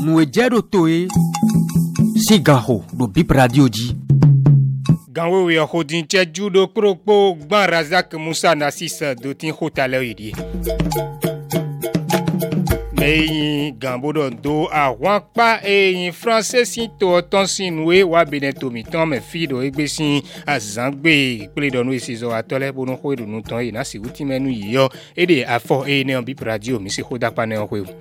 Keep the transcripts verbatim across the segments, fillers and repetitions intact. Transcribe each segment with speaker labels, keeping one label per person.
Speaker 1: Mouedjero Toe, Sigaho, do Bip Radio Di.
Speaker 2: Ganwe we hodin cheju do kropo gban Razak Musa Nassis do tin hotale idi. Meyin gambodo do àwọn pa eyin français sin to ton sinwe wa beneto mi ton me fido egbesin azangbe ipele donu isizo atole bonu ho idunu ton ina si wuti menu yiyo ede afo e ne on Bip Radio mi se hoda pa ne on ho.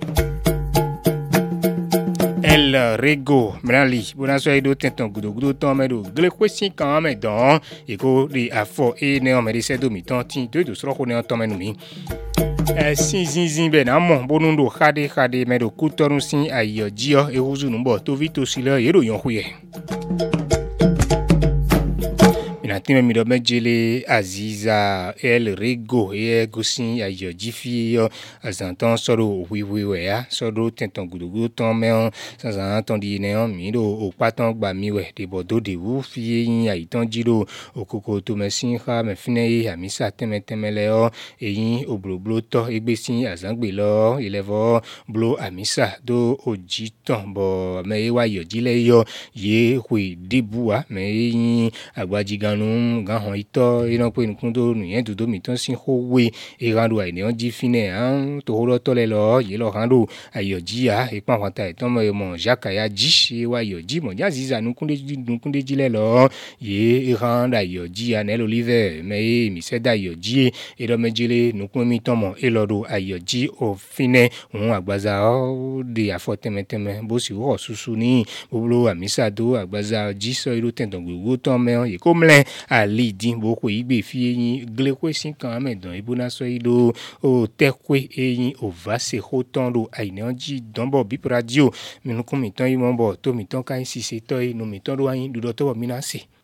Speaker 2: El Rego Mrali Bonasoi do tenton gudo gudo ton me do gle kwesi kan me don iko di afo e ne on me de se do mi ton tin do do sro ko ne on ton menu mi. Eh sin sin sin be na mo bonu do khade khade me do kutorun sin ayo jio e huzu numbo to vito silo yero yon huye. Minatime mi do mejele Aziza El Rego e gosin ayo jifi yo azanton soro wi wi we ya soro tenton gudugu ton me on sansan ton di ne on mi do o patan gba mi we de bodo de wu fi yin aiton jiro okoko to mesin kha me fine yi amisa teme temele o eyin obloblo to egbesin azangbe lo ilevo blo amisa do ojiton bo me wa yo jile yo ye hui debua me yin agbajigan num gan hon ito ina pe nkun do nu yen do mi ton sin howe e rando ai ne on ji fine an to horo to le lo ye lo rando ayoji a e pa wata e ton mo mo jakaya ji e wa yoji mo ja ziza nu kunde nu kunde ji le lo ye e rando ayoji a ne lo live me mi se da yoji e do mejile nu kun mi ton mo e lo do ayoji o fine un agbaza o de afotemeteme bo si wo susu ni boblo amisa do agbaza ji so iro ten don gugu ton me ye ko mle ali din boko igbe fi eyin gle kwesin kan medon ibuna so ido o tekwe eyin o vase hoton do aine onji donbo Bip Radio minukun mi ton imo bo to mi ton kan sise to inu mi ton do ayin dudo to mi na se.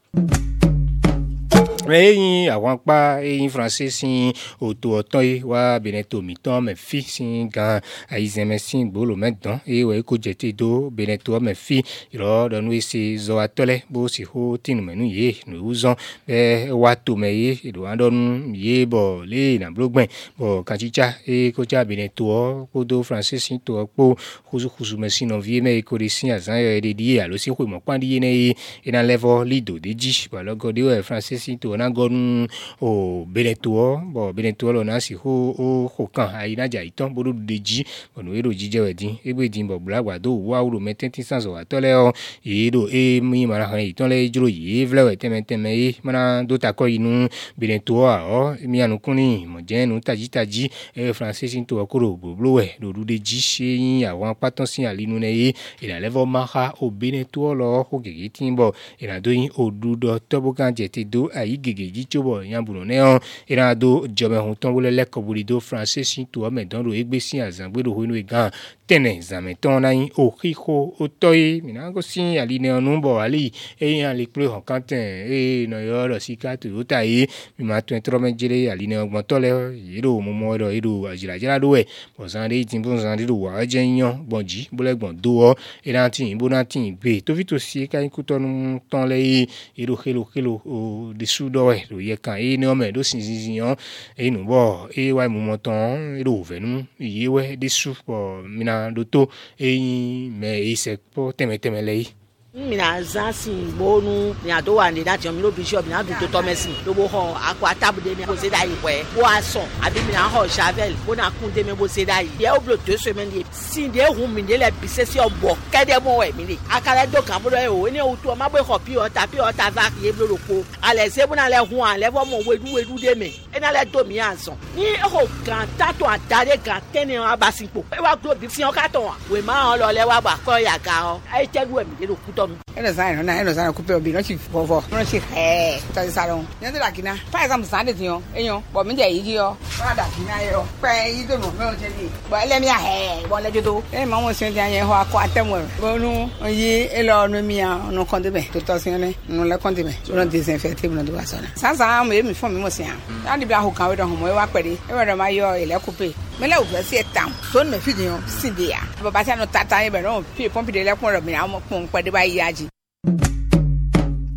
Speaker 2: Eyin àwọn pa eyin français sin oto oton yi wa beneto mi ton me fi sin gan aizeme sin gbolo medon e we ko jete do beneto me fi ro donu ese zo atole bo si ho tinu menu ye no uzon be wa to me ye do andonu ye bo le na blogben bo kanchicha e ko ja beneto ko do français sin to po khuzu khuzu me sin vie me ko de sin azan ye de die alo si ko mo pandi ne e na level lido de ji ba logo de français sin to na gonu o beneto bo beneto lo na si ho o ho kan aina ja iton bodo deji onu ero jije wedin egbe din bo blagba do wa uro metenti sanso atole o yedo e mi mara han iton le juro ye vle we temeteme e mana do ta ko inu beneto a o mi anu kuni mo je nu taji taji e français sin to okoro boblo we do du deji seyin àwọn patan sin alinu ne e ila level maha o beneto lo ho gege tin bo ila do yin odudo tobo kan jete do ayi gege jichobo yamburo ne on ira do jobe hun ton wole leko bulido français sin to me don ro egbe sin azangbe do hinu gan tene zameton na yin o khiko o toyi minago sin ali ne onu bo ali e yan le pre hon kanten e no yo ro sikatu o tayi mi ma twen tro mejele ali ne ogbon to le yiro mo mo ro yiro ajira jira do we bo san de tin bo san de do wa je yan gbonji bo le gbon do o ira tin bo na tin be to vito si ka yin ku tonu ton le yiro khelo khelo o de sudo we do ye kan e ne o me do sin sin yan e nu bo e wa mu mo ton e do venu ye we de su bo mina doto eyin me ise po teme teme lei
Speaker 3: mina zansin bonu ni ado wa ni that mi no bishop ni adu to to mesin lo bo ho akwa tabude mi bo se dai we bo aso abi mina ho shavel bo na kun de me bo se dai ye oblo to so me ni sin de hu mi de le bise si obo kede mo we mi ni akara do kan bo e o ni o to ma bo ho pi o ta pi o ta va ye blo ko ale se bo na le hu an le bo mo wedu wedu de me e na le do mi anson ni ho kan tato atare kan teni abasipo e wa glo bi si o ka ton we ma lo le wa gba ko ya ga o e tegu e mi de lo ku
Speaker 4: eno sana na eno sana kupe obi no chi fofo no chi eh ta salon nende la kina pa exam sande tin o eyan bo mi je yi yo ra da kina yo pe yi do mo me o je ni bo ele mi a he bo le jodo e ma mo sen ti ayen ho akọ atemo bo nu yi e lo nu mi an no kon de be to to sin ne no le kon de be so no disinfect no do asona sansa mo e mi fo mi mo sin an na di bia ho kan we do ho mo e wa pere e we do ma yo ele kupe mele o gbe si e town so me fi din sin de ya baba ti anu tata e be no pi pompi de le kun ro mi an mo pon pe de ba yi aji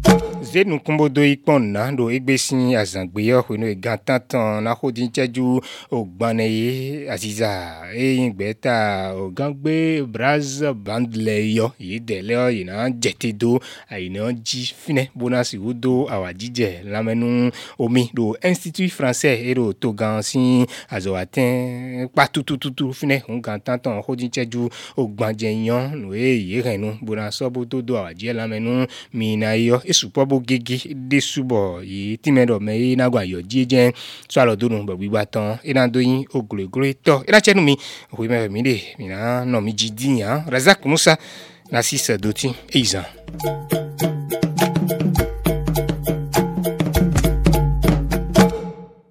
Speaker 2: zenu kumbodo ikponna do egbesi azangbeyo no egantantan na khodi ncheju ogbane aziza eyingbeta ogangbe braz bandleyo yidele yina jetedo ayina ji fine bonasi udo awajije lamenu omi do Institut Français ero togan si azoatin patutututu fine ongantantan khodi ncheju ogbanjeyan no eyirenu bonaso bodo do awajije lamenu minayo esupobo gege desubo yi timedo me na gwa yo jeje so alodunu bo gbigbà tán ina doyin oglegre to ina chenu mi o me mi de mi na no mi jidiyan Razak Musa na six doti eiza.